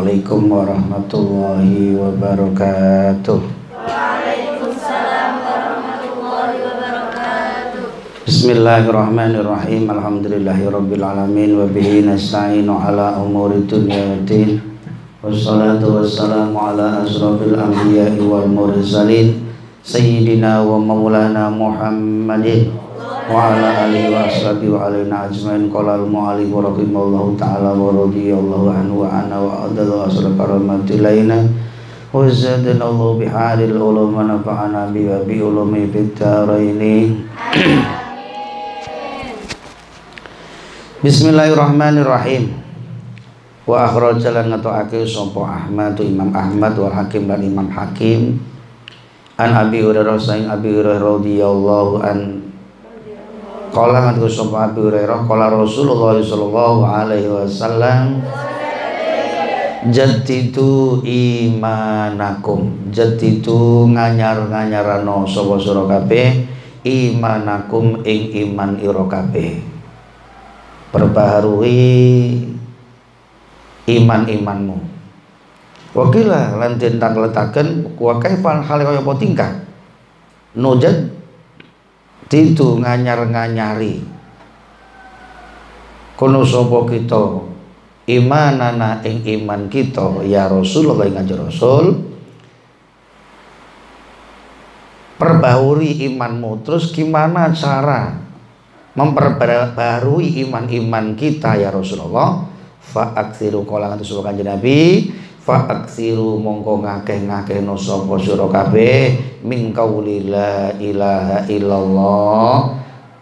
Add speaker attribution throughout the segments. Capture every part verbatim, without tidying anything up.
Speaker 1: Assalamualaikum warahmatullahi wabarakatuh.
Speaker 2: Waalaikumsalam warahmatullahi wabarakatuh.
Speaker 1: Bismillahirrahmanirrahim. Alhamdulillahirabbil alamin wa bihi nasta'inu ala umuri dunya waddin. Wassalatu wassalamu ala asrofil anbiya'i wal mursalin sayyidina wa maulana Muhammadin wa ala alihi wa ashabihi wa alaina ajmain. Qala al-mu'allif rahimallahu ta'ala wa radiyallahu anhu wa ana wa adallahu asra karamati laina wa zadana Allah biharil ulum wa nafa'ana bi wa bi ulumi fid dharain. Bismillahirrahmanirrahim. Wa akhrajalan ngatokake sapa Ahmad Imam Ahmad wal Hakim dan Imam Hakim an Abi Hurairah saing Abi Hurairah radhiyallahu an qala ngatku sapa Abi Hurairah qala Rasulullah sallallahu alaihi wasallam jaddidu imanakum, jaddidu nganyar-nganyarano sapa sira kabeh imanakum ing iman ira kabeh, perbaharui iman-imanmu. Wakila lan den tangletaken wa kaifal hal kaya apa tingkah nujad ditu nganyar-nganyari kono sapa kita imanana ing iman kita ya Rasulullah ing kanjeng Rasul, perbaharui imanmu. Terus gimana cara memperbarui iman-iman kita ya Rasulullah? Fa'aksiru qala ngantos sapa kanjeng Nabi, fa'aksiru mongko ngakeh-ngakehno sapa sira kabeh min qauli la ilaha illallah,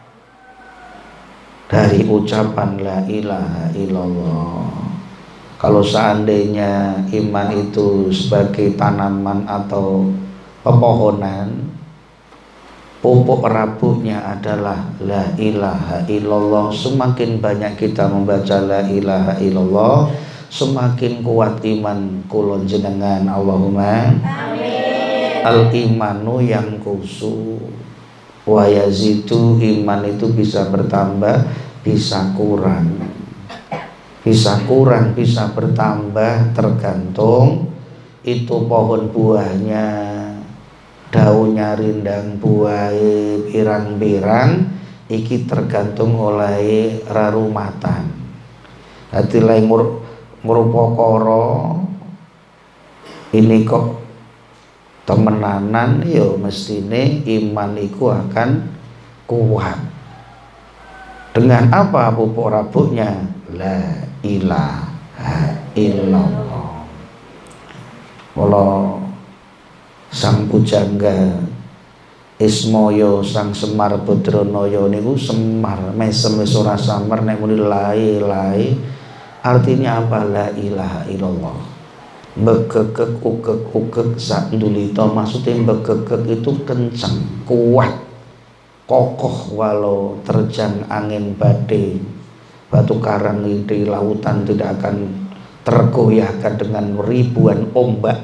Speaker 1: dari ucapan la ilaha illallah. Kalau seandainya iman itu sebagai tanaman atau pepohonan, pupuk rabuknya adalah la ilaha illallah. Semakin banyak kita membaca la ilaha illallah, semakin kuat iman kula jenengan. Allahumma amin. Al imanu yang kusu wa yazidu, iman itu bisa bertambah bisa kurang, bisa kurang bisa bertambah, tergantung itu pohon buahnya, daunnya rindang buahe pirang-pirang, iki tergantung oleh rarumatan. Dadi lae ngrupakara ini kok temenanan, yo mestine iman iku akan kuat. Dengan apa pupuk rabuknya? La ilaha illallah. Kalau sang pujangga Ismaya sang Semar Badranaya niku Semar mesem wis ora samar nek muni lae-lae. Artinya apa? La ilaha illallah. Begegek ugek-ugek sak ndulita, maksudnya begegek itu kencang, kuat, kokoh walau terjang angin badai, batu karang di lautan tidak akan tergoyahkan dengan ribuan ombak.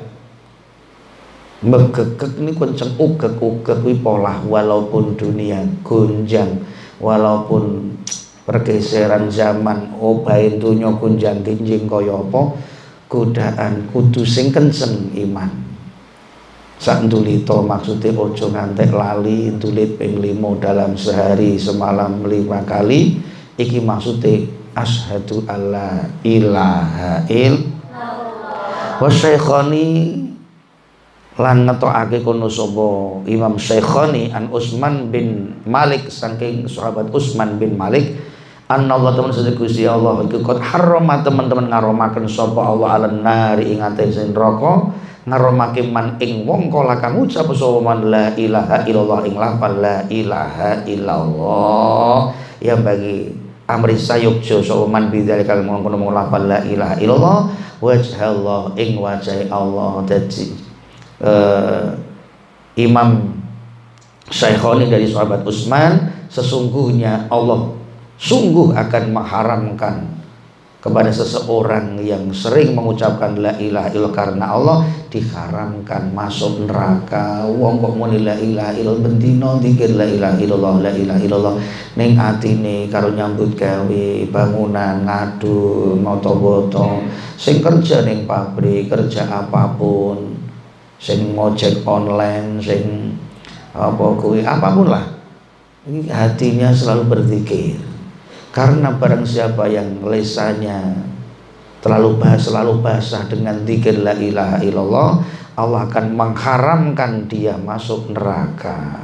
Speaker 1: Begegek ini kencang, ugek-ugek wi polah, walaupun dunia gonjang, walaupun pergeseran zaman obahe donya gonjang ginjing kaya apa, godaan kudu sing kenceng iman. Sak ndulita maksudnya ojo ngantek lali ndulit ping lima dalam sehari semalam lima kali. Iki maksudnya asyhadu alla ilaha illallah. Wa Syaikhani lan ngetokake kono sapa Imam Syaikhani an Utsman bin Malik saking sahabat Utsman bin Malik, anna Allah teman sedaya Gusti Allah iku qad harrama, teman-teman ngaromaken sapa Allah alan nari ing atase neraka, ngaromake man ing wong kala kang ucap sapa man la ilaha illallah ing lafal la ilaha illallah, yang bagi amri sayukjo sapa man bidzalika mengkono lafal la ilaha illallah wajhallah ing wajah Allah. Dadi uh, Imam Syaikhani dari sahabat Utsman, sesungguhnya Allah sungguh akan mengharamkan kepada seseorang yang sering mengucapkan la ilaha illallah karena Allah diharamkan masuk neraka. Wong kok muni la ilaha illallah bendino dikir la ilaha illallah la ilaha illallah ning atine karo nyambut gawe bangunan ngadu moto-moto sing kerja ning pabrik kerja apapun sing ngojek online sing apa kuwi apapun lah ini hatinya selalu berzikir. Karena barang siapa yang lisannya terlalu basah, selalu basah dengan zikir la ilaha illallah, Allah akan mengharamkan dia masuk neraka.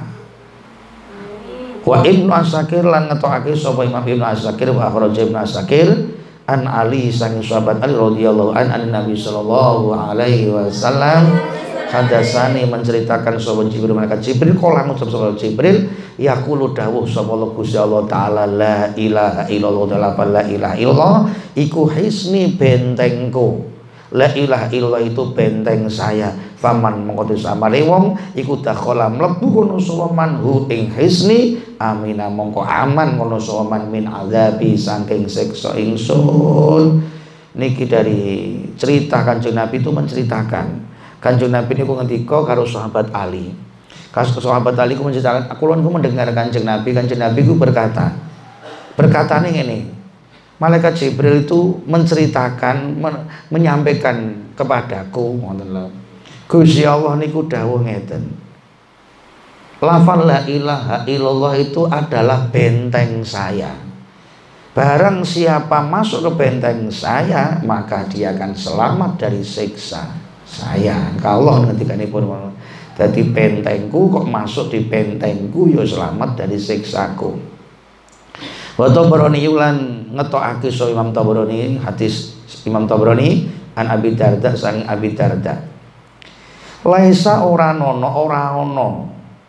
Speaker 1: Wa Ibnu Asakir lan ngetokake sapa Imam Ibnu Asakir wa akhraj Ibnu Asakir an Ali sang sahabat Ali radhiyallahu an an Nabi sallallahu alaihi wasallam hadasani menceritakan sapa Jibril malaikat Jibril kala ngucap sapa Jibril yaqulu dawuh sapa Gusti Allah taala la ilaha illallah la ilaha illallah iku hisni bentengku. La ilaha illallah itu benteng saya. Faman mengko samale wong iku dakhala mlebu kono sapa manhu ing hisni amina mongko aman kono sapa man min azabi saking siksa ingsun. Niki dari cerita Kanjeng Nabi itu menceritakan Kanjeng Nabi niku ngendika karo sahabat Ali. Kasus sahabat Ali ku menceritakan, aku lan ku mendengar Kanjeng Nabi, Kanjeng Nabi ku berkata, berkatane ngene. Malaikat Jibril itu menceritakan, men menyampaikan kepadaku, ngoten lho. Gusti Allah niku dawuh ngeten. Lafal la ilaha illallah itu adalah benteng saya. Barang siapa masuk ke benteng saya, maka dia akan selamat dari siksa saya. Kalau ngendikanipun dadi bentengku kok masuk di bentengku ya selamat dari siksaku. Wa Tabrani ulan ngetokake so Imam Tabrani hadis Imam Tabrani an Abi Darda sang Abi Darda. Laisa ora nono ora ono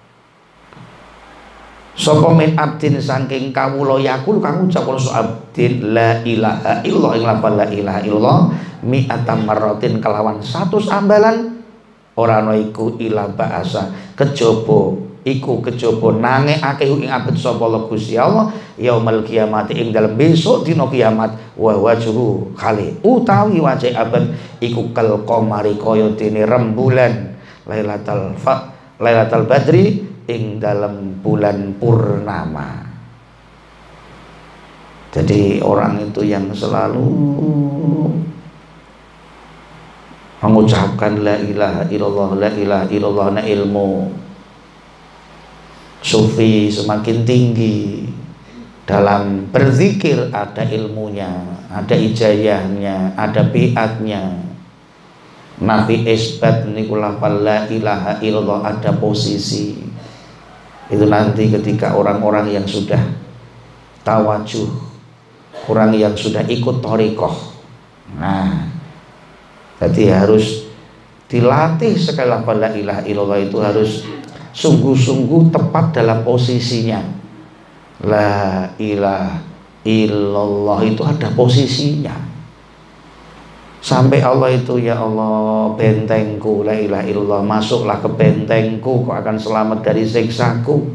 Speaker 1: sapa min abdin saking kawula yakul kang ucap so abdin la ilaha illallah ing lafal la ilaha illallah mi'atam marratin kelawan satu ambalan ora ana iku ila ba'asa kejaba iku kejaba nangekake ing abet sapa Gusti Allah yaumul kiamat ing dalem besok dina kiamat wa wajhu khali utawi wajah abet iku kal qamari kaya dene rembulan lailatul fa lailatul badri ing dalam bulan purnama. Jadi orang itu yang selalu mengucapkan la ilaha illallah la ilaha illallah na ilmu sufi semakin tinggi dalam berzikir ada ilmunya, ada ijayahnya, ada biatnya. Nabi isbat niku lafal la ilaha illallah ada posisi. Itu nanti ketika orang-orang yang sudah tawajuh, orang yang sudah ikut thariqah. Nah, jadi harus dilatih sekali lafal la ilaha illallah itu harus sungguh-sungguh tepat dalam posisinya. La ilaha illallah itu ada posisinya. Sampai Allah itu ya Allah bentengku la ilaha illallah masuklah ke bentengku kau akan selamat dari siksaku.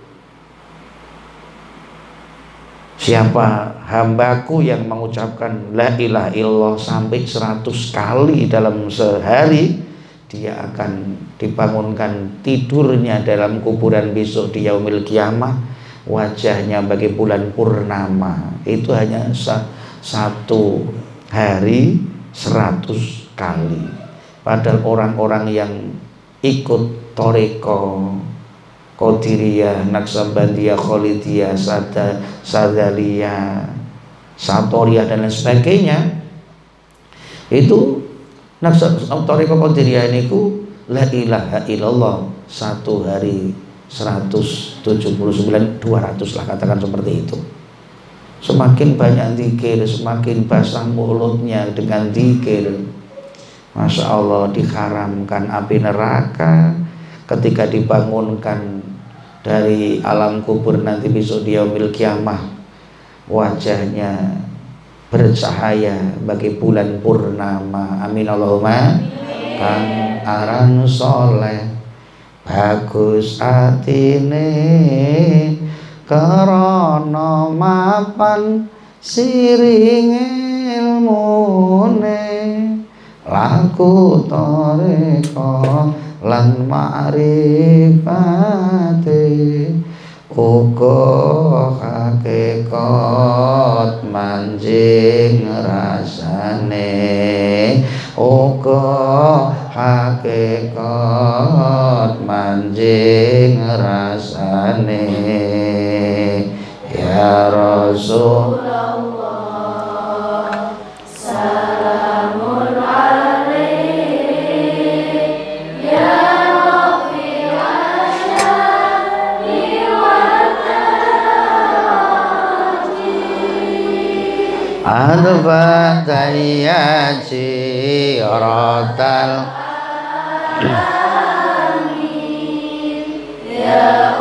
Speaker 1: Siapa hambaku yang mengucapkan la ilaha illallah sampai seratus kali dalam sehari, dia akan dibangunkan tidurnya dalam kuburan besok di yaumil kiamah, wajahnya bagai bulan purnama. Itu hanya satu hari seratus kali. Padahal orang-orang yang ikut thariqah Qadiriyah, Naqsabandiyah, Khalidiyah, Sada, Sadaliyah, Satoriyah dan lain sebagainya, itu thariqah Qadiriyah niku la ilaha illallah satu hari seratus tujuh puluh sembilan dua ratus lah katakan seperti itu. Semakin banyak zikir, semakin basah mulutnya dengan zikir, masya Allah diharamkan api neraka. Ketika dibangunkan dari alam kubur nanti besok di yaumil kiamah, wajahnya bercahaya bagi bulan purnama. Amin Allahumma. Kang aran soleh bagus atine karana mapan siringe ilmune laku toreko lan ma'rifate uga hakikat manjing rasane uga hakikat manjing rasane ya Rasulullah salamun alaik ya Rafi'al syani wa taji adfa tayyaji rotal ya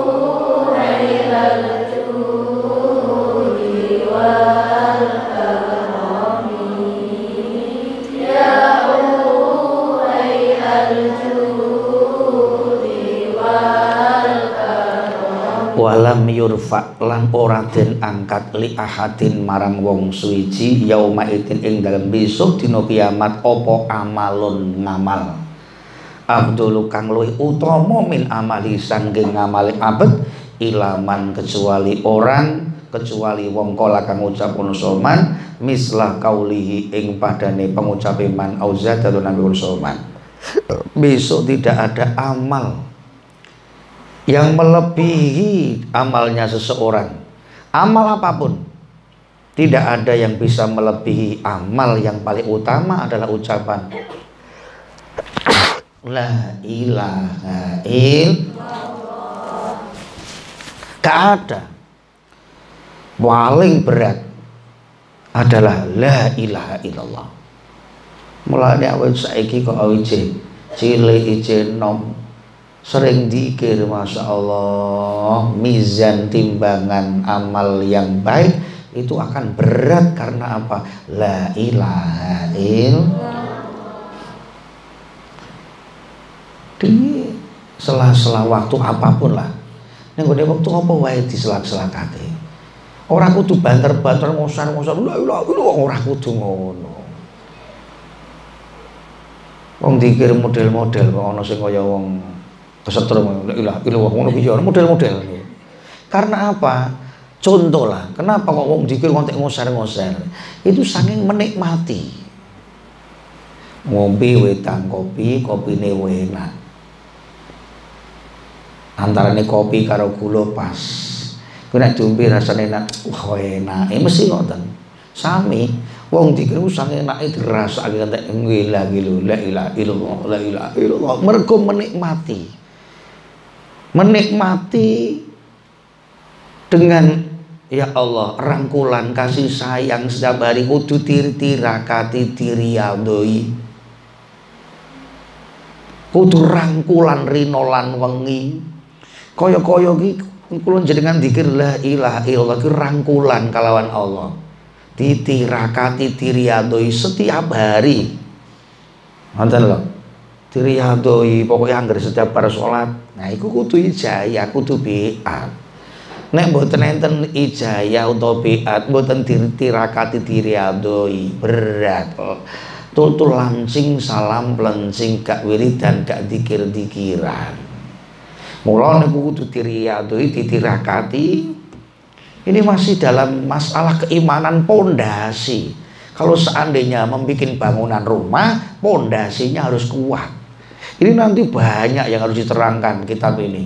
Speaker 1: walam yurfa lan ora den angkat li ahadin marang wong suwiji yauma itin ing dalem besok dina kiamat apa amalun ngamal abdul kang luwih utama min amali sanging ngamali abet ilaman kecuali orang kecuali wong kala kang ngucap soman mislah kaulihi ing padane pengucape man auza dalun nabi soman besok tidak ada amal yang melebihi amalnya seseorang. Amal apapun tidak ada yang bisa melebihi amal yang paling utama adalah ucapan la ilaha illallah. Gak ada. Paling berat adalah la ilaha illallah. Mulane awake saiki kok awake cilik ijen nom sering dikir, masya Allah, mizan timbangan amal yang baik itu akan berat karena apa? La ilaha illallah. Di sela-sela waktu apapun lah, ning gone waktu apa wae diselak-selakake. Ora kudu banter-banter ngosar-ngosar la ilaha illallah, ora kudu ngono. Wong dikir model-model kok ana sing kaya wong kesetrum la ilaha illallah ngono piye model-model. Karena apa? Contoh lah, kenapa kok wong dikir ngontek ngosar-ngosar? Itu saking menikmati. Ngombe wedang kopi, kopine enak. Antarane kopi karo gula pas. Ku nek diombe rasane enak, wah enak. Eh mesti ngoten. Sami wong dikir ku saking enake dirasake entek ngilah lho la ilaha illallah la ilaha illallah mergo menikmati. Menikmati dengan ya Allah rangkulan kasih sayang setiap hari kudu tir-tirakati diriyadoi kudu rangkulan rinolan wengi kaya-kaya iki kula jenengan zikir la ilaha illallah ki rangkulan kalawan Allah ditirakati diriyadoi setiap hari ngoten lho diriyadoi pokoknya anggar setiap para sholat. Nah iku kudu ijayah kudu biat. Nek mboten enten ijayah utawa biat mboten ditirakati diriyadoi berat. Tutul lancing salam plencing gak wiridan gak dikir-dikiran. Mula niku kudu diriyadoi ditirakati. Ini masih dalam masalah keimanan pondasi. Kalau seandainya membuat bangunan rumah, pondasinya harus kuat. Ini nanti banyak yang harus diterangkan kitab ini.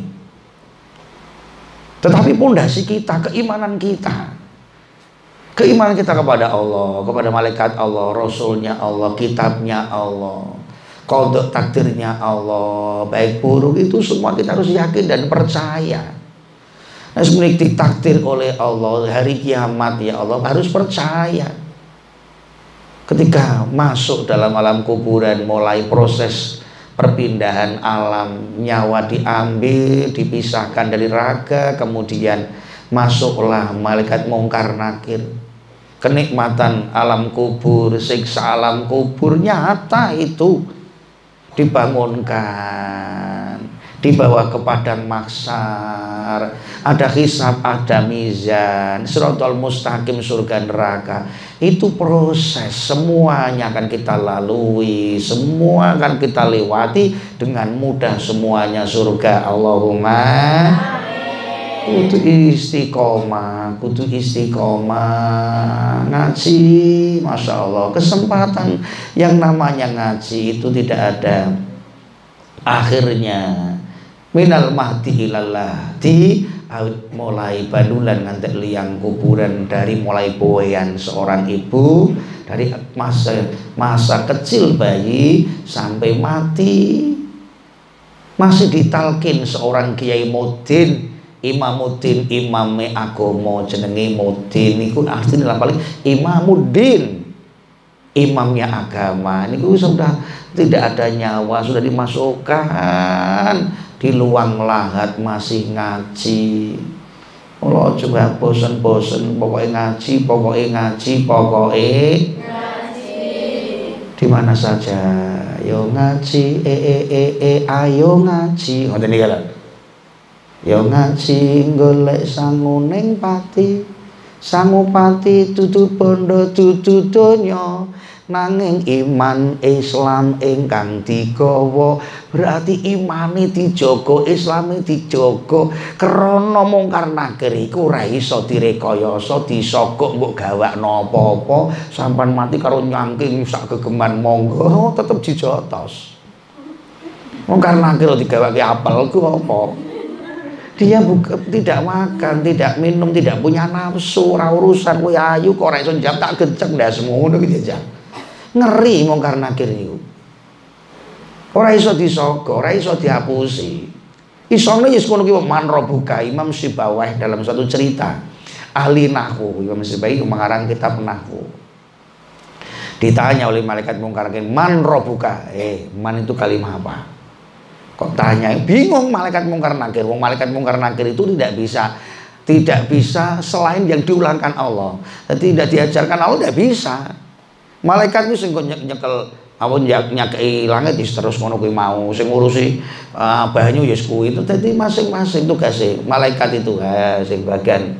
Speaker 1: Tetapi pondasi kita, keimanan kita, keimanan kita kepada Allah, kepada malaikat Allah, Rasulnya Allah, kitabnya Allah, qada takdirnya Allah, baik buruk itu semua kita harus yakin dan percaya. Nah, sebenarnya ditakdir oleh Allah hari kiamat ya Allah harus percaya. Ketika masuk dalam alam kuburan mulai proses perpindahan alam, nyawa diambil, dipisahkan dari raga, kemudian masuklah malaikat mungkar nakir. Kenikmatan alam kubur, siksa alam kubur nyata itu dibangunkan, dibawa ke padang mahsyar, ada hisab, ada mizan, siratal mustaqim, surga neraka. Itu proses, semuanya akan kita lalui, semua akan kita lewati dengan mudah, semuanya surga. Allahumma kudu istiqomah, kudu istiqomah ngaji. Masya Allah, kesempatan yang namanya ngaji itu tidak ada akhirnya. Minal mahdi ilallah, di mulai badulan ngantek liang kuburan, dari mulai boyan seorang ibu, dari masa masa kecil bayi sampai mati, masih ditalkin seorang Kiai Mudin, Imamuddin, imame agama jenenge Mudin niku artine lah paling Imamuddin, imamnya agama. Niku sudah tidak ada nyawa, sudah dimasukkan di luang lahat masih ngaji. Allah coba bosen-bosen, pokoknya ngaji, pokoknya ngaji, pokoknya ngaji. Di mana saja, yo ngaji, e e e e ayo ngaji. Ngoten niki lho. Ya ngaji golek sangu ning pati, sangu pati dudu bondo dudu donya, nanging iman Islam ingkang digawa. Berarti imane dijaga, Islame dijaga. Krana mungkar nakir iku ora iso direkayasa, disogok mbok gawakno apa-apa, sampean mati karo nyangking sak gegeman monggo tetep dijotos. Mungkar nakir digawake apel ku apa? Dia buka, tidak makan, tidak minum, tidak punya nafsu, ora urusan kowe ayu kok ora iso njam tak gecek ndasmu ngono ki jajal. Ngeri mungkar nakir niku. Ora iso disogo, ora iso dihapusi. Isone wis ngono ki man robuka. Imam Sibawah dalam satu cerita, ahli nahwu, Imam Sibawah mengarang kitab nahwu. Ditanya oleh malaikat mungkar nakir, man robuka? Eh, man itu kalimat apa? Kok tanya, bingung malaikat mungkar nakir. Wong malaikat mungkar nakir itu tidak bisa tidak bisa selain yang diulangkan Allah. Tidak diajarkan Allah, tidak bisa. Malaikat itu sing nyekel awon nyakei langit terus ngono kuwi mau, sing ngurusi uh, banyu ya kuwi. Itu dadi masing-masing tugasnya malaikat itu. Ha, sing bagian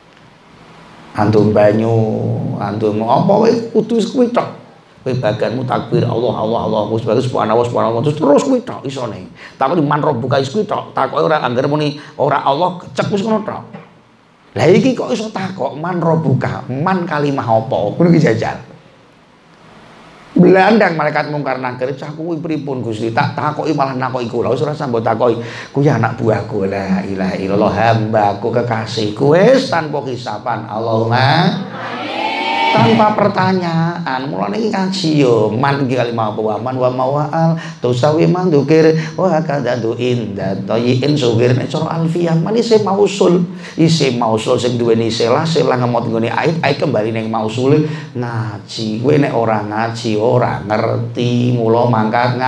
Speaker 1: antum banyu, antum apa wae kudu kuwi tok. Bagianmu takbir Allah Allah Allah subhanahu wa ta'ala terus terus kuwi tok isone. Takon man robbuka kuwi tok. Takoke ora angger muni ora Allah cek wis ngono tok. Lah iki kok iso takok man robbuka? Man kalimah apa? Ngono ki jajal. Belandang malaikat mungkar nakir, cah kuwi pripun Gusti? Tak takoki malah nakoki kula. Wis ora sambut takoki. Kuwi anak buahku, la ilaha illallah, hambaku kekasihku wis tanpa hisaban. Allahumma tanpa pertanyaan. Mulane iki ngaji yo man iki kalimah apa man wa mawal tusawi man dzikir wa kadadu inda tayyin sugir nek cara alfiyah man isim mausul, isim mausul sing duweni selah selah ngemot nggone ait ait kembali ning mausul. Ngaji kowe nek ora ngaji ora ngerti, mula mangkat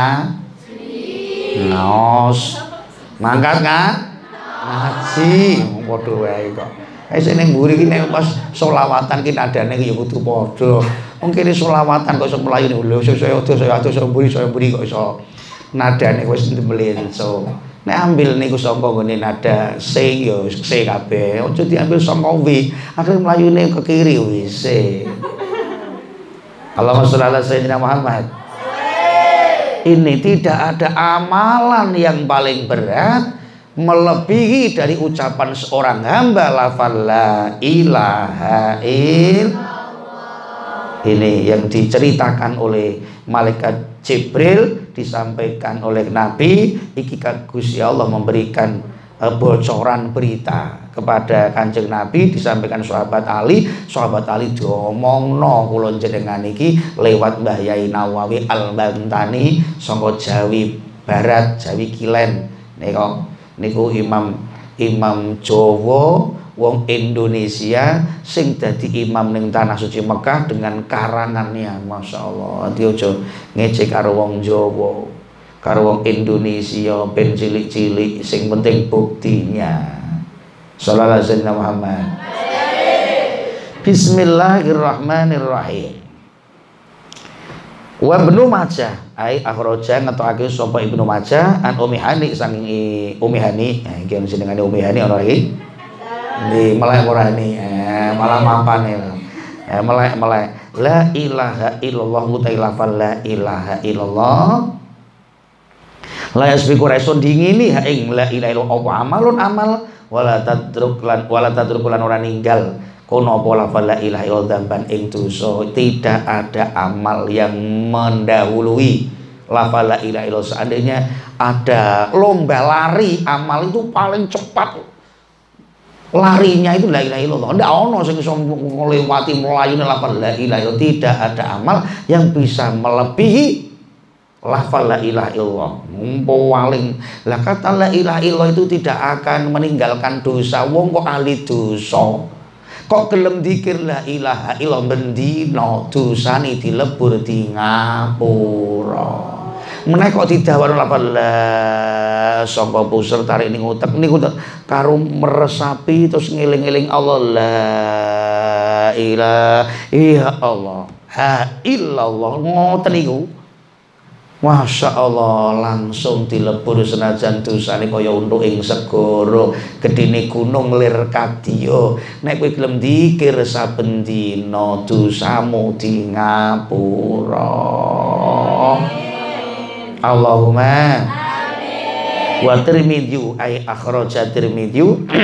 Speaker 1: ngaji ngaos mangkat ngaji padha wae kok. Eh sing ning mburi iki nek pas selawatan ki nadane ya kudu padha. Wong kene selawatan kok iso mlayu lho saya ado saya ado saya mburi saya mburi kok iso nadane wis mlenso. Nek ambil niku saka ngene nada C ya C kabeh. Aja diambil saka W. Akhire mlayune ke kiri wis. Allahumma sholli ala sayyidina Muhammad. Ini tidak ada amalan yang paling berat melebihi dari ucapan seorang hamba lafal la ilaha illallah. Ini yang diceritakan oleh malaikat Jibril, disampaikan oleh Nabi. Iki Gusti Allah memberikan uh, bocoran berita kepada Kanjeng Nabi, disampaikan sahabat Ali. Sahabat Ali diomongno kula jenengan iki lewat Mbah Yai Nawawi Al-Bantani saka Jawi Barat, Jawi Kilen. Nika niku imam imam Jawa wong Indonesia sing dadi imam ning tanah suci Mekah dengan karangannya. Masya Allah, ati aja ngecek karo wong Jawa karo wong Indonesia ben cilik-cilik, sing penting buktinya. Shallallahu alaihi wasallam Muhammad. Bismillahirrahmanirrahim. Wa Ibnu Majah ai akhraja ngetokake sapa Ibnu Majah an Ummi Hani saking Ummi Hani. Nah iki ono jenengane Ummi Hani ono iki. Di melek ora ini. Eh malah mampane. Eh melek-melek. La ilaha illallah mutailafal la ilaha illallah. La yasbiqu raisun dingini ha ing la ilaha illallah apa amalun amal wala tadruk lan wala tadruk lan ora ninggal kono apa lafal la ilaha illallah dzamban ing dosa. Tidak ada amal yang mendahului lafal la ilaha illallah. Seandainya ada lomba lari, amal itu paling cepat larinya itu la ilaha illallah. Ndak ono sing iso nglewati mlayune lafal la ilaha illallah. Tidak ada amal yang bisa melebihi lafal la ilaha illallah. Paling lah kata la ilaha illallah itu tidak akan meninggalkan dosa. Wong kok ahli dosa kok gelem dikir la ilaha illallah bendina dosane dilebur di ngapura. Menawa kok didhawuhi lafal la sangka puser tarik ning utek niku karo meresapi terus ngeling-eling Allah la ilaha Allah ha illallah ngoten niku. Masya Allah langsung dilebur senajan dosane kaya untuk ing segara gedene gunung lir kadya. Nek kowe gelem dikir saben dina dosamu di ngapura. Allahumma amin. Wa Tirmidzi ay akhraja Tirmidzi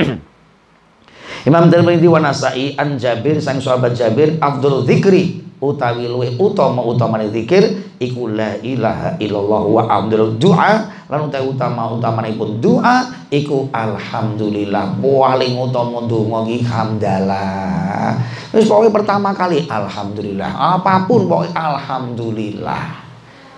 Speaker 1: Imam Tirmidzi wa Nasa'i an Jabir sang sahabat Jabir afdhul dzikri utawi luwih utama utamane zikir iku la ilaha illallah wa afdhul du'a lan utawi utama utamanipun doa iku alhamdulillah. Paling utama donga iki hamdalah. Wis pokoke pertama kali alhamdulillah. Apapun pokoke alhamdulillah.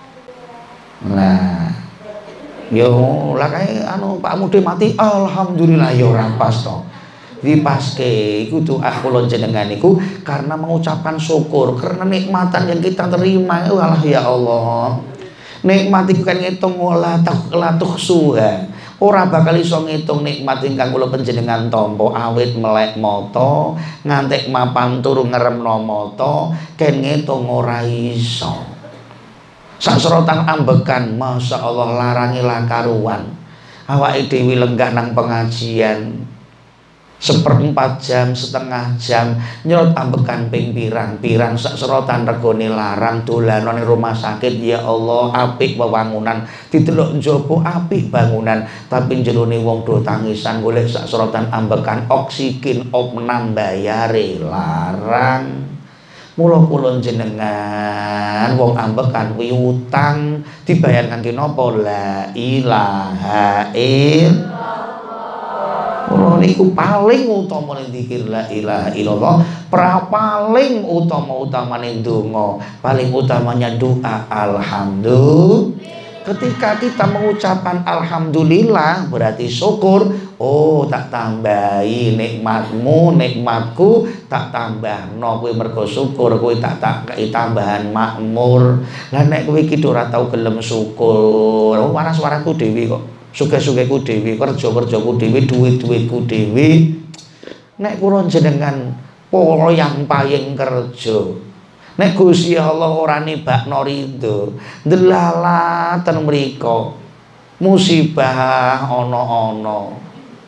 Speaker 1: Nah, yo lah kae anu Pak Mude mati alhamdulillah ya ora pas to. Dipaske iku doa kula jenengan niku karena mengucapkan syukur karena nikmatan yang kita terima. Walah ya Allah. Nikmat iku kan ngitung wala taqlatuh suha. Ora bakal iso ngitung nikmat ingkang kula panjenengan tampa awit melek mata ngantek mapan turu ngeremno mata ken ngitung ora iso. Sak serotan ambekan masya Allah larangi lah karuan. Awake dhewe lenggah nang pengajian seperempat jam setengah jam nyerot ambekan ping pirang-pirang sak serotan regone larang dolanan rumah sakit. Ya Allah apik wewangunan didelok njaba apik bangunan tapi jerone wong do tangisan golek sak serotan ambekan oksigen opnam bayare larang. Mula kula jenengan wong ambekan kuwi utang dibayarkan ki napa la ilaha illallah. Mula niku paling utama zikir la ilaha illallah, pra paling utama-utamane donga, paling utamanya doa alhamdulillah. Ketika kita mengucapkan alhamdulillah berarti syukur. Oh tak tambahi nikmatmu nikmatku tak tambah no kowe mergo syukur kowe tak tak kei tambahan makmur. Lah nek kowe iki ora tau gelem syukur waras-warasku dhewe kok sugih-sugihku dhewe kerja-kerjaku dhewe duit-duitku dhewe. Nek kula jenengan poyang payeng kerja nek Gusti Allah ora nibakno ridho ndelalaten mriko musibah ana-ana.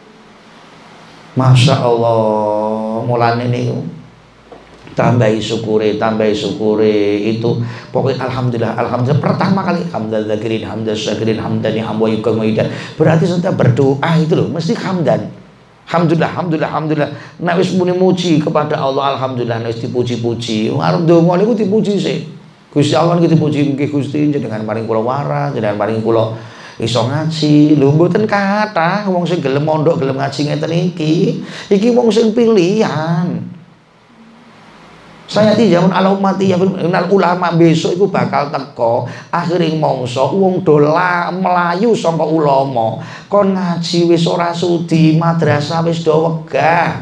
Speaker 1: Masya Allah mulane niku tambahi syukure tambahi syukure itu pokoknya alhamdulillah alhamdulillah pertama kali hamdal zakirin hamdal syakirin hamdani hamwa yukamuidan berarti setiap berdoa itu loh mesti hamdan. Alhamdulillah, alhamdulillah, alhamdulillah. Nek wis muni muji kepada Allah, alhamdulillah. Nek wis dipuji-puji, arep ndonga niku dipuji sih. Gusti Allah niku dipuji nggih Gusti jenengan paring kula waras, jenengan paring kula iso ngaji. Lho mboten kathah wong sing gelem mondok, gelem ngaji ngeten iki. Iki wong sing pilihan. Saya di zaman ala umati ya ulama besok itu bakal teko akhiring mongso wong dola melayu sangka ulama kon ngaji wis ora sudi madrasah wis do wegah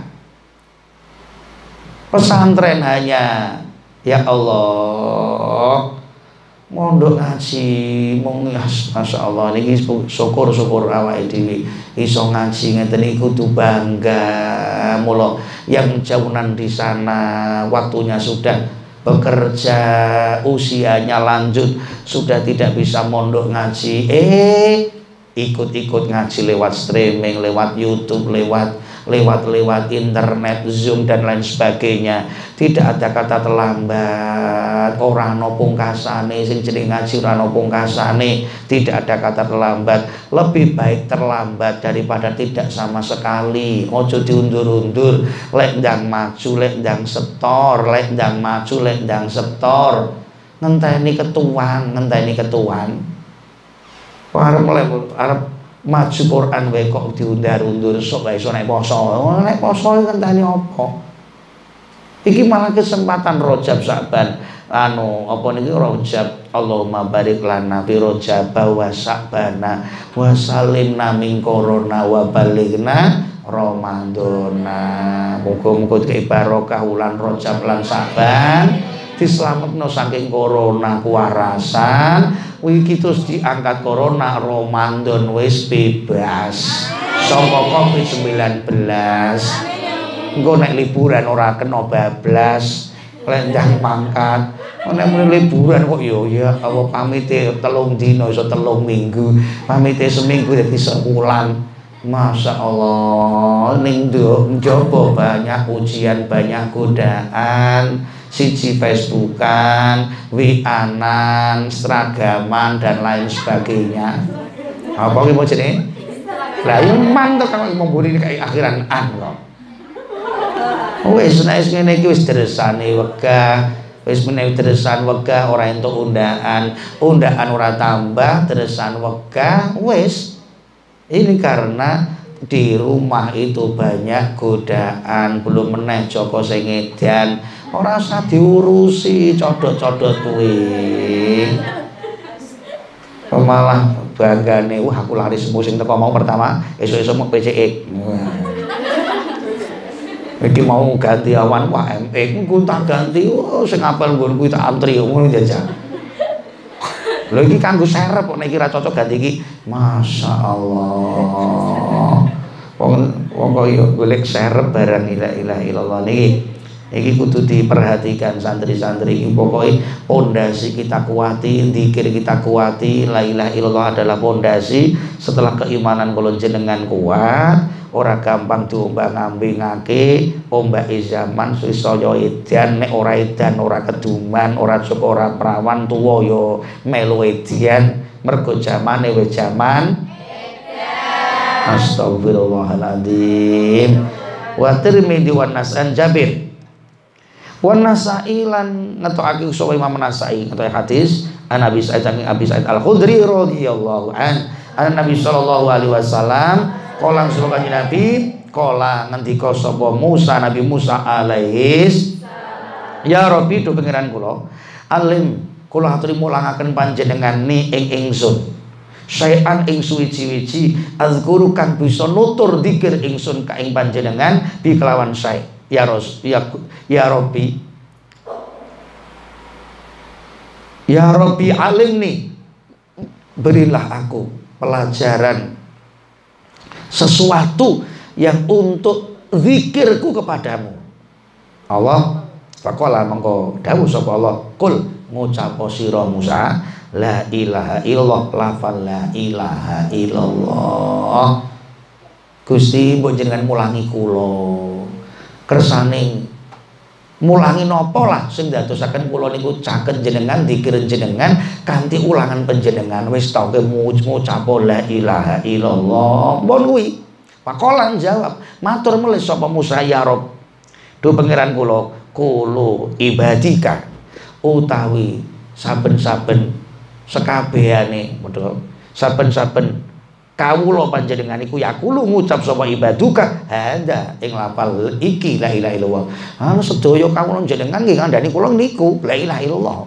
Speaker 1: pesantren hanya ya Allah mondok ngaji mung masya Allah niki syukur-syukur awake dhewe iso ngaji ngeten iki kudu bangga. Mula yang jauhan di sana waktunya sudah bekerja, usianya lanjut, sudah tidak bisa mondok ngaji, eh ikut-ikut ngaji lewat streaming, lewat YouTube, lewat lewat-lewat internet, Zoom dan lain sebagainya. Tidak ada kata terlambat. Orang no pungkasane sing jeneng ngaji ora no pungkasane. Tidak ada kata terlambat. Lebih baik terlambat daripada tidak sama sekali. Ojo diundur-undur. Lek ndang maju, lek ndang setor, lek ndang maju, lek ndang setor. Ngenteni ketuan, ngenteni ketuan. Arep arep maju Quran wae kok diundur-undur sok wae iso nek poso. Nek poso ngenteni apa? Iki malah kesempatan Rajab Sa'ban. Anu apa niki Rajab. Allahumma barik lana fi Rajab wa Sa'bana wa salimna min corona wa balighna Ramadana. Muga-muga kei barokah wulan Rajab lan Sa'ban, dislametno saking corona kuwarasan. Wiki terus diangkat corona, Ramadan wis bebas saka covid sembilan belas. Engko nek liburan ora kena bablas, lenjang mangkat. Nek muni liburan kok yo ya apa pamite telung dina iso telung minggu, pamite seminggu dadi sewulan. Masya Allah, ning njaba banyak ujian, banyak godaan. Siji Facebookan, W A-an, seragaman dan lain sebagainya. Apa ki mau jenenge? Lah yo mantep kok memburi kayak akhiran an kok. Wis nek ngene iki wis dresane wegah, wis menewi dresan wegah ora entuk undaan, undaan ora tambah, dresan wegah wis. Ini karena di rumah itu banyak godaan, belum meneh Joko sing edan, ora usah diurusi codot-codot kuwi. Malah banggane, wah aku laris musim teko mau pertama, esuk-esuk mau P C I. Iki mau ganti awan wah M E ku tak ganti, oh sing apel nggon kuwi tak antri ngono jajal. Lho iki kanggo serep kok nek kira cocok ganti iki. Masya Allah. Wong wong kok golek serep barang la ilaha illallah niki. Iki kudu diperhatikan santri-santri iki, pokoke pondasi kita kuati, zikir kita kuati, la ilaha illallah adalah pondasi. Setelah keimanan kula jenengan kuat, ora gampang diombang-ambingake, ombake zaman susaya edan, nek ora edan ora keduman, ora cukup ora prawan tuwa ya melu edan, mergo zamane wis zaman edan. Astagfirullahaladzim. Wa Tirmidzi wan Nas'an Jabir wan Nasa'i lan ngetokake sapa Imam Nasa'i ngetokake hadis an Abi Sa'id Abi Sa'id Al-Khudri radhiyallahu an an Nabi sallallahu alaihi wasallam qala sura kanjeng Nabi qala ngendika sapa Musa Nabi Musa alaihis ya Rabbi do pangeran kula alim kula aturi mulangaken panjenengan ni ing ingsun sayan ing suwi-wiji azkuru kang bisa nutur zikir ingsun ka ing panjenengan bi kelawan sae ya Ros ya ya Rabbi ya Rabbi alimni berilah aku pelajaran sesuatu yang untuk zikirku kepadamu. Allah faqala mengko dawuh sapa Allah kul ngucap sira Musa la ilaha illallah lafal la ilaha illallah. Gusti mbok jenengan mulangi kula kersane mulangi napa lah sing dadosaken kula niku caket jenengan zikir jenengan kanthi ulangan panjenengan wis ta ke ngucap la ilaha illallah mbon kuwi pakolan jawab matur mulih sapa Musa ya Rob do pangeran kula kulo ibadika utawi saben-saben sekabehane modho saben-saben kawula panjenengan iku ya kulo ngucap sapa ibaduka handa ing lafal iki la ilaha illallah. Anu sedaya kawula jenengan nggih ngandani kula niku la ilaha illallah.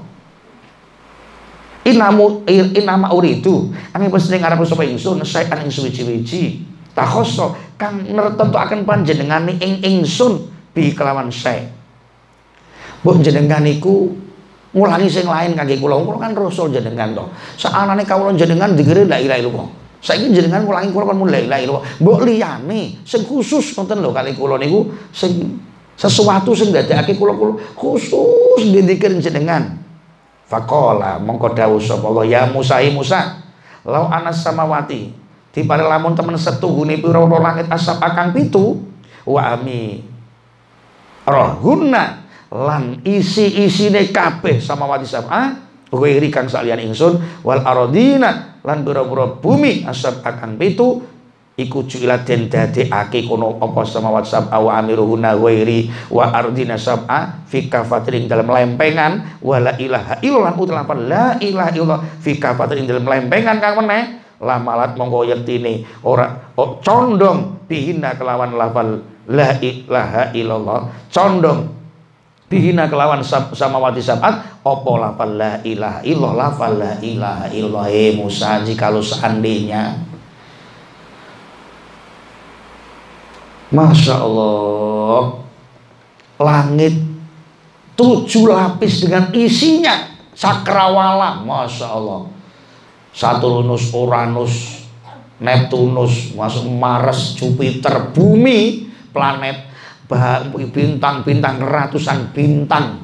Speaker 1: Inamu inama uridu ane pesene ngarep sapa ingsun saean ing suwi-wiji takhoso kang nertentuaken panjenengan ing ingsun bi kelawan sae. Mbok jenengan niku ngulangi sing lain kangge kula. Kula kan rasul jenengan to. Saanane kawula jenengan dikira la ilaha illallah. Saiki jenengan ngulangi kula kan la ilaha illallah. Mbok liyane sing khusus wonten lho kali kula niku sing Sesuatu sing ndadekake kula-kula khusus ndikir jenengan. Faqala mongko dawuh sapa Allah, ya Musa ya Musa, lau anas samawati dipare lamun temen setuhune pira-pira langit asap akang pitu wa ami rohunna lan isi-isine kabeh samawati sab'a ghairi kang saliyane ingsun wal aradina lan pira-pira bumi asap akang pitu iku juila den dadekake kono apa samawati sab'a wa amiruhunna ghairi wa ardina sab'a fi kafatrin dalam lempengan wala ilaha illallah ulah la ilaha illallah fi kafatrin dalam lempengan kang meneh lamalat monggo yektine ora oh, condong bihina kelawan lafal la ilaha illallah condong bihina kelawan sab, samawati sab'at apa lafal la ilaha illallah lafal la ilaha illallah. Hei Musa, jikalau seandainya Masya Allah langit tujuh lapis dengan isinya cakrawala, Masya Allah, Saturnus, Uranus, Neptunus, masuk Mars, Jupiter, bumi, planet, bintang-bintang, ratusan bintang.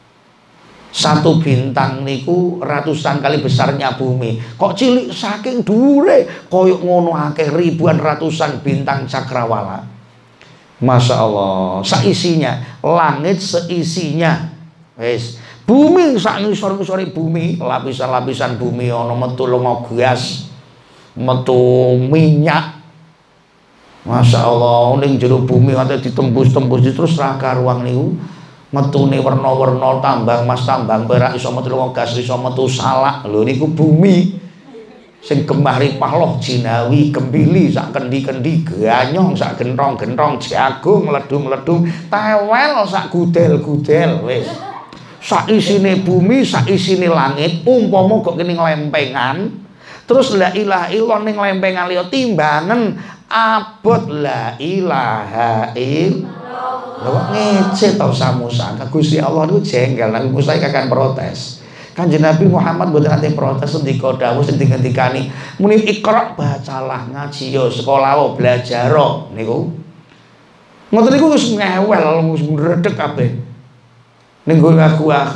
Speaker 1: Satu bintang niku ratusan kali besarnya bumi. Kok cilik saking dhuwure koyok ngono akeh ribuan ratusan bintang cakrawala. Masya Allah, seisinya, langit seisinya. Wes, bumi sak ngisor-ngisore bumi, lapisan-lapisan bumi ana metu lenga gas, metu minyak. Masya Allah, ning jero bumi ate ditembus-tembus terus ra karuang niku. Metune werna-werna tambang emas, tambang perak, iso metu lenga gas, iso metu salak. Lho niku bumi. Sing gemah ripah loh jinawi, kembili sak kendi-kendi, ganyong sak gentong-gentong, jagung meledung-meledung, tewel sak gudel-gudel wis. Sak isine bumi, sak isine langit, umpama kok kene lempengan, terus la ilaha illallah ning lempengan liya timbangan abot la ilaha illallah. Lha kok ngece to Musa, Gusti Allah niku jengkel, Nabi Musa akan protes. Kanjeng Nabi Muhammad mboten ate protes ndika dawuh sing dingendikani muni ikra bacalah ngaji yo sekolah wo belajar niku. Ngoten niku wis ngewel wis ngredeg kabeh. Ning gua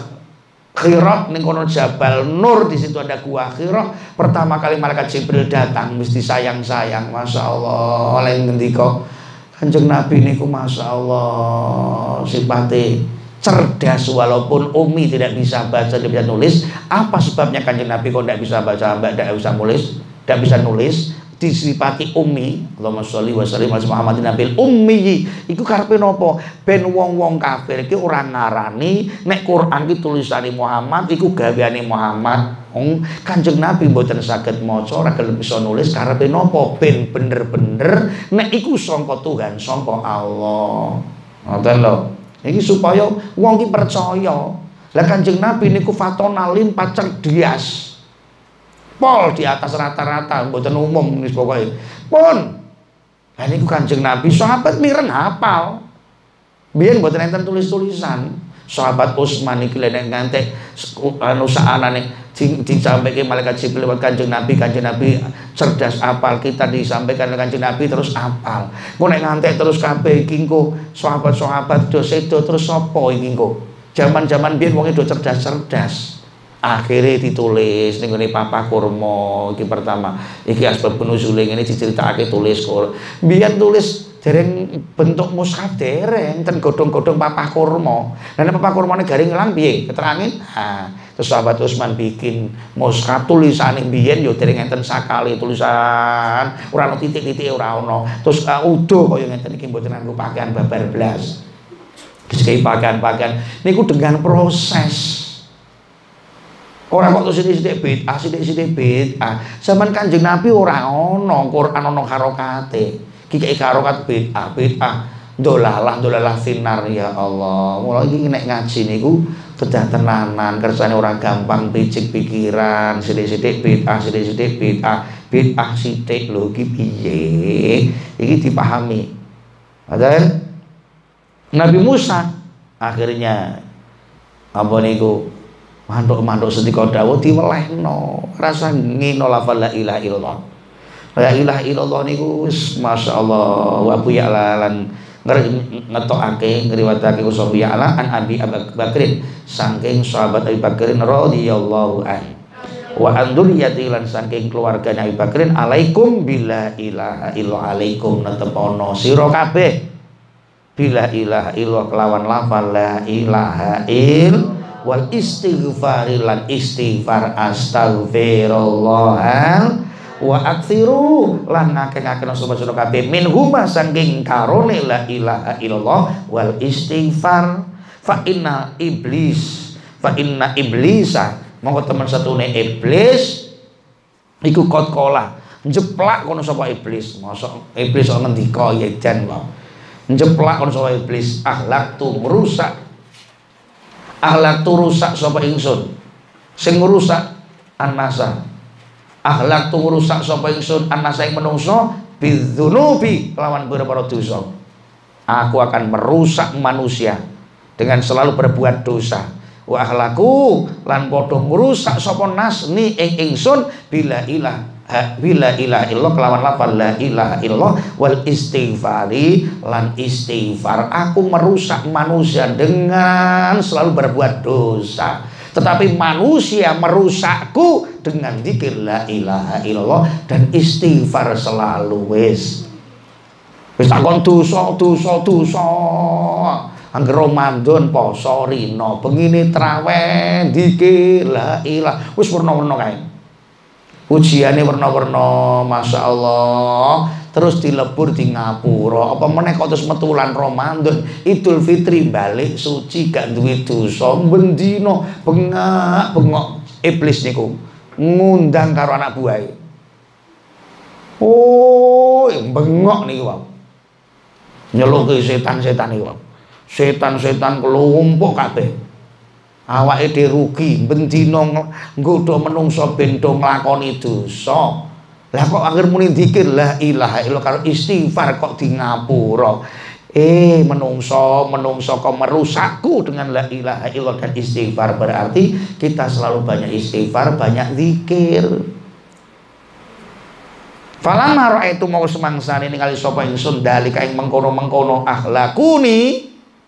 Speaker 1: Hira ning kono Jabal Nur, di situ ada gua Hira. Pertama kali malaikat Jibril datang mesti sayang-sayang, Masya Allah oleh ngendika Kanjeng Nabi niku Masya Allah sipate cerdas walaupun Umi tidak bisa baca, tidak bisa nulis. Apa sebabnya Kanjeng Nabi kok tidak bisa baca, tidak bisa nulis, tidak bisa nulis? Disifati Umi. Allahumma sholli wa sallim ala Muhammadin nabil ummi. Iku karepe napa? Ben wong-wong kafir iki ora ngarani nek Quran iki tulisane Muhammad iku gaweane Muhammad. Wong Kanjeng Nabi mboten saged maca, ora gelem bisa nulis, karepe napa? Ben bener-bener nek iku sangka Tuhan, sangka Allah. Ngoten lho. Iki supaya wong iki percaya. Lah Kanjeng Nabi niku fatona limpat cerdas. Pol di atas rata-rata, mboten umum wis pokoke. Pun. Lah niku Kanjeng Nabi sahabat miren hafal. Biyen mboten enten tulis-tulisan. Sahabat Utsman iki lek ngantek anu saanane disampaikan malaikat Jibril lewat Kanjeng Nabi, Kanjeng Nabi cerdas apal, kita disampaikan oleh Kanjeng Nabi terus apal. Kok nek ngantek terus kabeh iki engko sahabat-sahabat do sedo terus sapa iki engko. Zaman-zaman biyen wong do cerdas-cerdas. Akhirnya ditulis ning ngene Papa Kurma iki pertama. Iki asbab nuzule ngene diceritakake tulis kok. Biyen tulis dereng bentuk mushaf dereng ten godhong-godhong Papa Kurma. Lah nek Papa Kurmane garing ngelang piye? Keterangin. Ha, terus sahabat Utsman bikin mushaf tulisane biyen yo dereng enten sakali tulisan, ora ono titik-titik ora ono. Terus uh, udo kaya ngeten iki mboten nganggo pakaian babar blas. Sing pakaian-pakaian niku dengan proses. Orang kok tuh sithik-sithik bid'ah, sithik-sithik bid'ah. Zaman Kanjeng Nabi ora ono Quran ono harokate. Kiki harokat bid'ah, bid'ah. Dolalah, dolalah finar ya Allah. Mulai iki nek ngaji niku kedah tenanan, kersane ora gampang picik pikiran, sithik-sithik bid'ah, sithik-sithik bid'ah. Bid'ah sithik lho iki piye? Iki dipahami. Padahal Nabi Musa akhirnya apa niku manduk-manduk sedika dawuh diwelehno rasa ngino lafal la ilaha illallah. La ilaha illallah niku wis masyaallah wa bu ya'lan ngetokake ngriwatake usaha ala an Abi Bakrin saking sahabat Abi Bakrin radhiyallahu anhu wa anduriyati lan saking keluarganya Abi Bakrin alaikum bila ilaha illa alaikum netepono sira kabeh bila ilaha illa kelawan lafal la ilaha il wal istighfar lan istighfar astaghfirullah wa aktsiru lan ngakeh-ngakeh sapa sira kabeh minhuma saking karone la ilaha illallah wal istighfar fa inna iblis fa inna iblisa mongko temen satune iblis iku kot kola njeplak kono sapa iblis mosok iblis kok ngendika ya jan kok njeplak kono sapa iblis akhlak tu merusak akhlak tu rusak sapa ingsun sing ngrusak anasa akhlak tu rusak sapa ingsun anasa ing menungso bidzunubi lawan pira-pira dosa aku akan merusak manusia dengan selalu berbuat dosa wa akhlaku lan padha merusak sapa nas ni ing ingsun bila ilaha bila ilaha illallah kelawan lafal la ilaha illallah wal istighfari lan istighfar aku merusak manusia dengan selalu berbuat dosa tetapi manusia merusakku dengan zikir la ilaha illallah dan istighfar selalu wis wis takon dosa dosa dosa angger Ramadan poso rino bengine traweh zikir la ilaha wis werna-werna kae ujiane werna-werna masyaallah terus dilebur di ngapura apa meneh kok terus metulan Ramadan Idul Fitri balik suci gak duwe dosa bendino bengak bengok iblis niku ngundang karo anak buahe oh bengok niku wae nyeluki setan-setan niku setan-setan kelompok kabeh awake dhewe rugi bendino nggodha menungso ben do nglakoni dosa. Lah kok akhir muni zikir la ilaha illallah karo istighfar kok di ngapura. Eh menungso menungso kok merusakku dengan la ilaha illallah dan istighfar berarti kita selalu banyak istighfar, banyak zikir. Falamma raaitu mau semangsane ningali sapa ingsun dalika ing mengkono-mengkono akhlakuni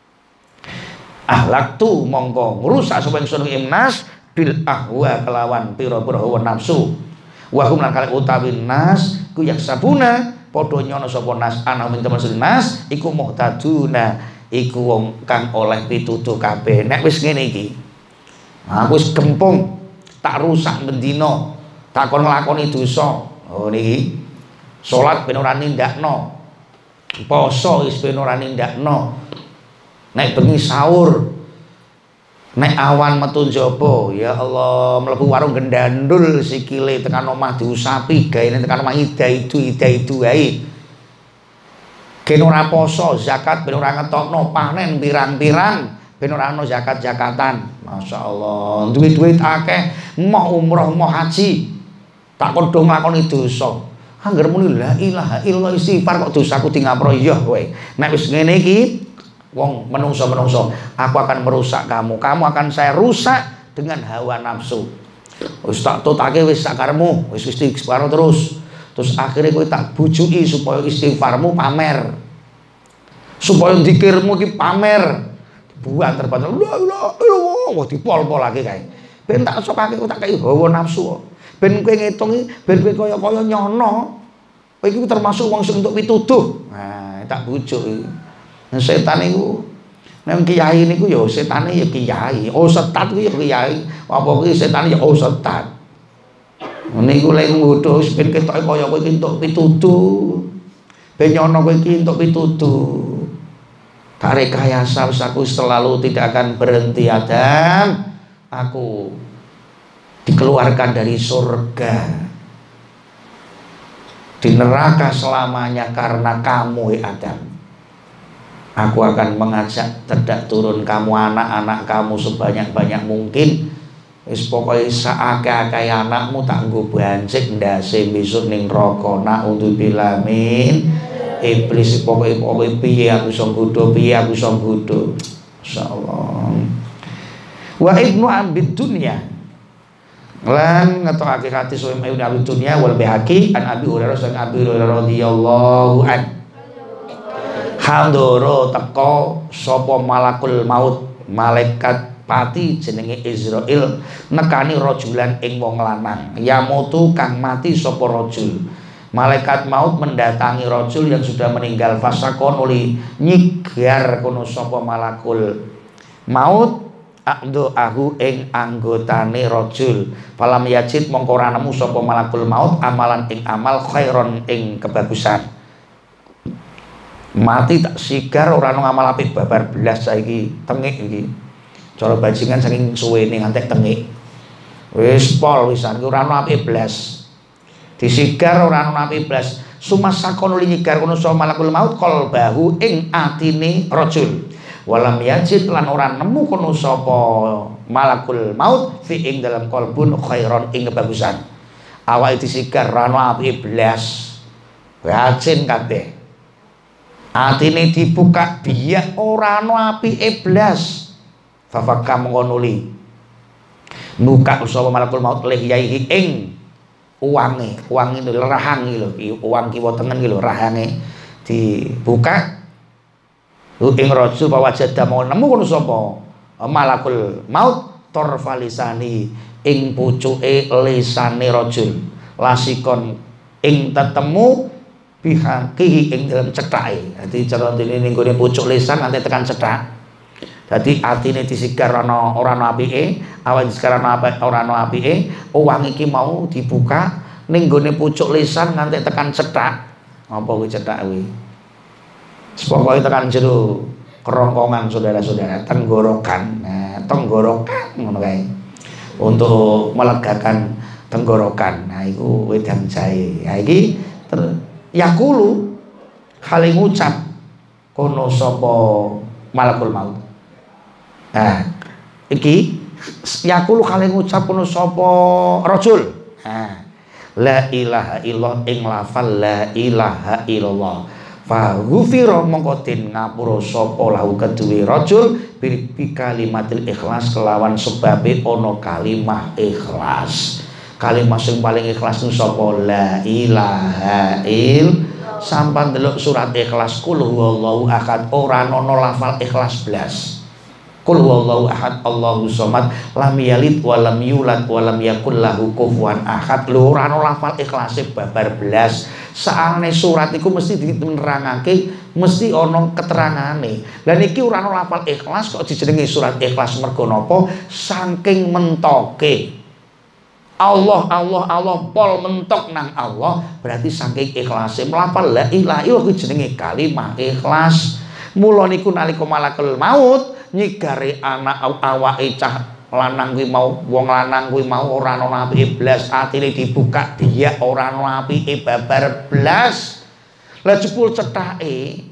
Speaker 1: akhlak tu mongko ngrusak sapa ingsun ing nas bil ahwa kelawan pira-pira hawa nafsu. Wa hum lan kale utawi nas ku yak sabuna padha nyono sapa nas ana min temen nas iku muhtaduna iku wong kang oleh pitutuh kabeh nek wis ngene iki aku wis gempung tak rusak bendina tak kon nglakoni dosa oh niki salat ben ora nindakno poso wis ben ora nindakno nek bengi sahur nek awan metu njaba ya Allah mlebu warung gendandul sikile tekan omah diusapi gaene tekan omah ida-idu ida-idu wae gen ora poso zakat ben ora ngetokno panen pirang-pirang ben ora ana zakat-zakatan masyaallah duwe duit akeh mau umroh mau haji tak kodho nglakoni dosa angger muni la ilaha illallah istighfar kok dosaku di ngapura ya kowe nek wis ngene iki wong menungso-menungso aku akan merusak kamu kamu akan saya rusak dengan hawa nafsu wis tak tutake wis sakaremu wis istighfar terus terus akhirnya kowe tak bujuki supaya istighfarmu pamer supaya zikirmu iki pamer buang terbatal la ilaha illallah wah dipol-polake kae ben tak sokake tak kei hawa nafsu ben kowe ngitungi ben kowe kaya-kaya nyono kowe iki termasuk wong sing entuk pituduh nah tak bujuk setan niku nek kiai niku ya setane ya kiai oh setat kuwi ya kiai apa kuwi setane ya oh setat niku lek nggodho ben ketoke kaya kowe iki entuk pituduh ben nyono kowe iki entuk pituduh tak rekayasa aku selalu tidak akan berhenti Adam aku dikeluarkan dari surga di neraka selamanya karena kamu Adam. Aku akan mengajak terdak turun kamu anak-anak kamu sebanyak-banyak mungkin. Wis pokoke saakeh-akeh anakmu tak nggo bancik ndase besok ning neraka naudzubillah min. Iblis pokoke pokoke piye aku iso nggodho piye aku iso nggodho. Masyaallah. Wa ibnu abid dunya lan ngetokake hati soe ibnu abid dunya wal bihaqi an Abi Hurairah sang Abi Hurairah radhiyallahu anhu Handoro teko sapa malakul maut, malaikat pati jenenge Israil nekani rajulan ing wong lanang. Yamutu kang mati sapa rajul. Malaikat maut mendatangi rajul yang sudah meninggal, fasakon uli nyigar kono sapa malakul maut akdo ahu ing anggotane rajul. Falam yajid mongko ora nemu sapa malakul maut amalan ing amal khairon ing kebagusan. Mati tak sigar ora ono ngamal apik babar belas saiki tengik iki. Cara bajingan saking suwene ngantek tengik. Wis pol wisan iki ora ono apik belas. Disigar ora ono apik belas. Sumasakon li nyigar kono sapa malakul maut qalbahu ing atine rajul. Walam yajid lan ora nemu kono sapa malakul maut fi ing dalam qalbun khairon ing kebagusan. Awake disigar ora ono apik belas. Racin kabeh. Atine dibuka biyak ora ana apike blas. Fafaka mengkonuli buka sapa malakul maut lihyaihi ing uwange. Uwang itu rahang iki lho, uwang kiwa tengen iki lho rahange dibuka. Ing rajul pawajada mau nemu kono sapa malakul maut torfalisani ing pucuke lisane rajul. Lasikon ing tetemu bihakihi ing dalam cethake. Dadi cara dene ning gone pucuk lisan nanti tekan cethak. Dadi atine disigar ana ora ana apike, awak disigar ana apa ora ana apike, uwang iki mau dibuka ning gone pucuk lisan nganti tekan cethak. Apa kuwi cethak kuwi? Pokoke tekan jero kerongkongan saudara-saudara, tenggorokan. Nah, tenggorokan ngono kae. Untuk melegakan tenggorokan. Nah, iku wedang jahe. Nah, iki yakulu hale ngucap kono sapa malakul maut. Nah, iki yakulu hale ngucap kono sapa rajul. Nah, la ilaha illallah ing lafal la ilaha illallah. Fa ghufira mongko den ngapura sapa lahu keduwe rajul bi kalimatil ikhlas kelawan sebabe ana kalimah ikhlas. Kalimah sing paling ikhlas nu sapa la ilaha il. Sampan delok surat ikhlas kul huwallahu ahad ora ana lafal ikhlas blas. Kul huwallahu ahad Allahu somad lam yalid wa lam yulad wa lam yakul lahu kufuwan ahad. Lho ora ana lafal ikhlase babar blas. Saane surat iku mesti diterangake, mesti ana keterangane. Lah niki ora ana lafal ikhlas kok dijenengi surat ikhlas mergo napa? Saking mentoke Allah, Allah, Allah, pol mentok nang Allah, berarti saking ikhlase melafal la ilaha illallah kuwi jenenge kalimah ikhlas. Mula niku nalika malakul maut nyigare anak awake cah lanang kuwi mau, wong lanang kuwi mau ora ana apike blas, atine dibuka dia ora ana apike babar blas. Lah jebul cethake,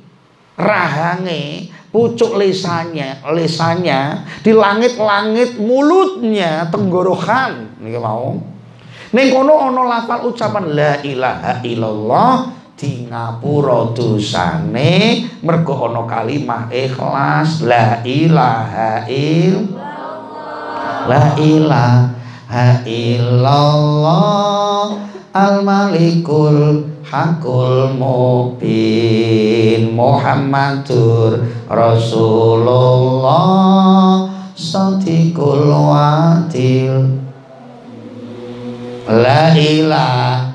Speaker 1: rahange, pucuk lisannya, lisannya di langit-langit, mulutnya tenggorokan niki mau. Ning kono ana lafal ucapan la ilaha illallah di ngapura dosane mergo ana kalimah ikhlas la ilaha illallah. La ilaha illallah al-malikul hakul mubin Muhammadur Rasulullah Shadiqul wadil. La ilaha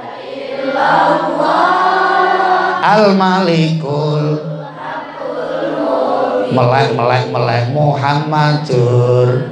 Speaker 1: illallah al-malikul hakul mubin melek melek melek Muhammadur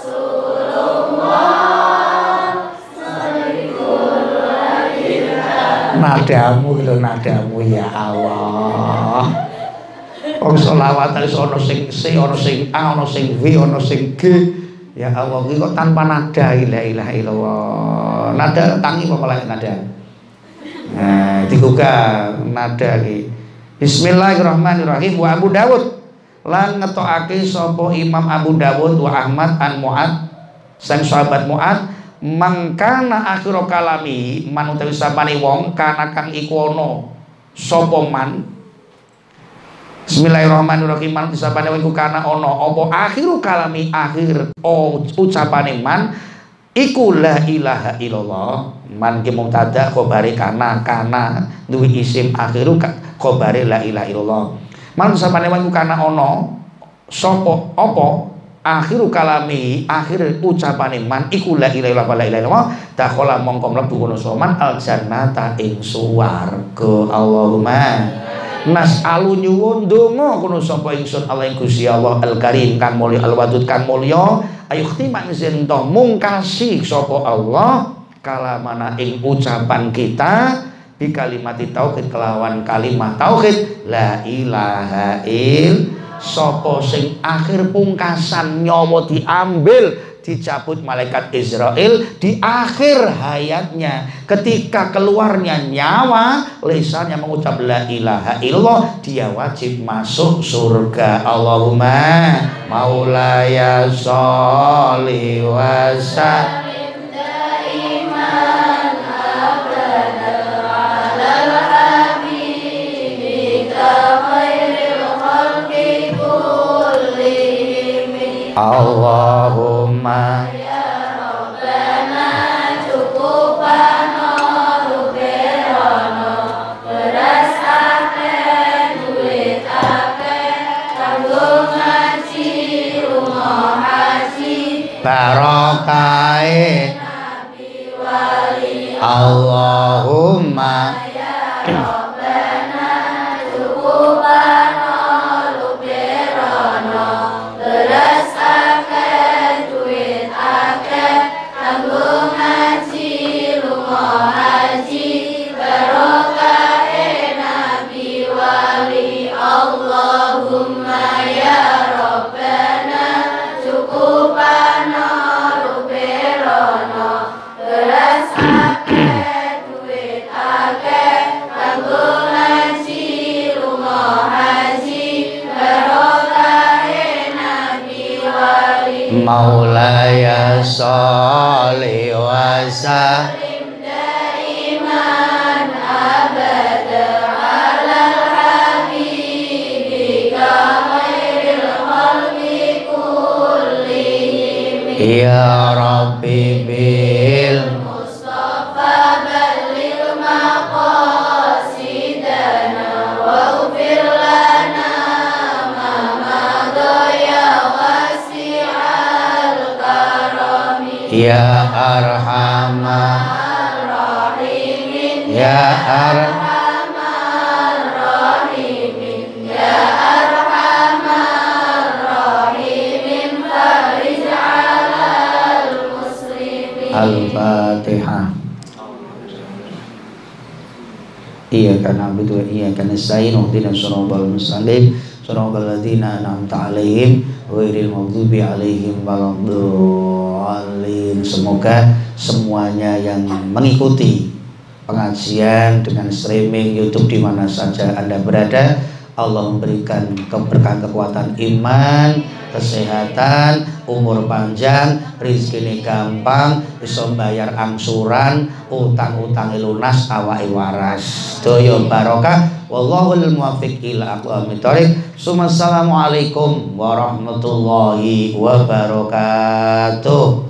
Speaker 1: nadamu lho nadamu ya Allah. Wong selawat wis ana sing C, ana sing A, ana sing W, ana sing G. Ya Allah iki kok tanpa nada la ilaha illallah. Nada tangi apa malah nada. Nah, digugah nada iki. Bismillahirrahmanirrahim. Wa Abu Dawud lan ngetokake sapa Imam Abu Dawud wa Ahmad an Mu'ad sang sahabat Mu'ad mangkana akhir kalami man utawi sapane wong kana kang iku ana sapa man. Bismillahirrahmanirrahim. Man sapane wong iku kana ana apa akhir kalami akhir oh, ucapane man iku la ilaha illallah. Man ki mubtada khabare kana kana duwe isim akhiru khabare la ilaha illallah. Man sapane wong kana ana sapa apa akhiru kalami akhir ucapane man iku la ilaha illallah la ilaha illallah dakhala mongko mlebu kono soman al jannata ing swarga. Allahumma nas'alu nyuwun donga kono sapa ingsun Allah ing Gusti Allah al karim kang mulya al wadud kang mulya ayukhti manzen to mungkasi sapa Allah kalamana ing ucapan kita bi kalimati tauhid kelawan kalimat tauhid la ilaha il sapa sing akhir pungkasan nyawa diambil dicabut malaikat Israel di akhir hayatnya ketika keluarnya nyawa lisannya mengucap la ilaha illallah dia wajib masuk surga. Allahumma maulaya sholli wa sallim Allahumma
Speaker 2: ya Rabbana cukupano ruberono beras akeh duit akeh kanggo ngaji lunga haji
Speaker 1: barokahe
Speaker 2: nabi wali
Speaker 1: Allahumma
Speaker 2: ya Rabbana cukupano ruberono beras
Speaker 1: maulaya sholli wa sallim
Speaker 2: daiman abada alal habibika khairil khalqi kullihim
Speaker 1: ya rabbi bil
Speaker 2: mustafa ballil maqasidana waghfir lana ma madaya
Speaker 1: ya arhamar
Speaker 2: rahimin
Speaker 1: ya
Speaker 2: arhamar rahimin ya arhamar rahimin farij 'alal muslimin.
Speaker 1: Al-Fatihah. Iyyaka na'budu wa iyyaka nasta'in ihdinas siratal mustaqim siratal ladzina an'amta 'alaihim ghairil maghdubi 'alaihim waladdallin. Semoga semuanya yang mengikuti pengajian dengan streaming YouTube di mana saja Anda berada, Allah memberikan keberkahan kekuatan iman, kesehatan, umur panjang, rezeki gampang, bisa bayar angsuran, utang-utang lunas, awake waras. Doyo barokah, wallahul muwaffiq ila aqwamit thoriq. Assalamualaikum warahmatullahi wabarakatuh.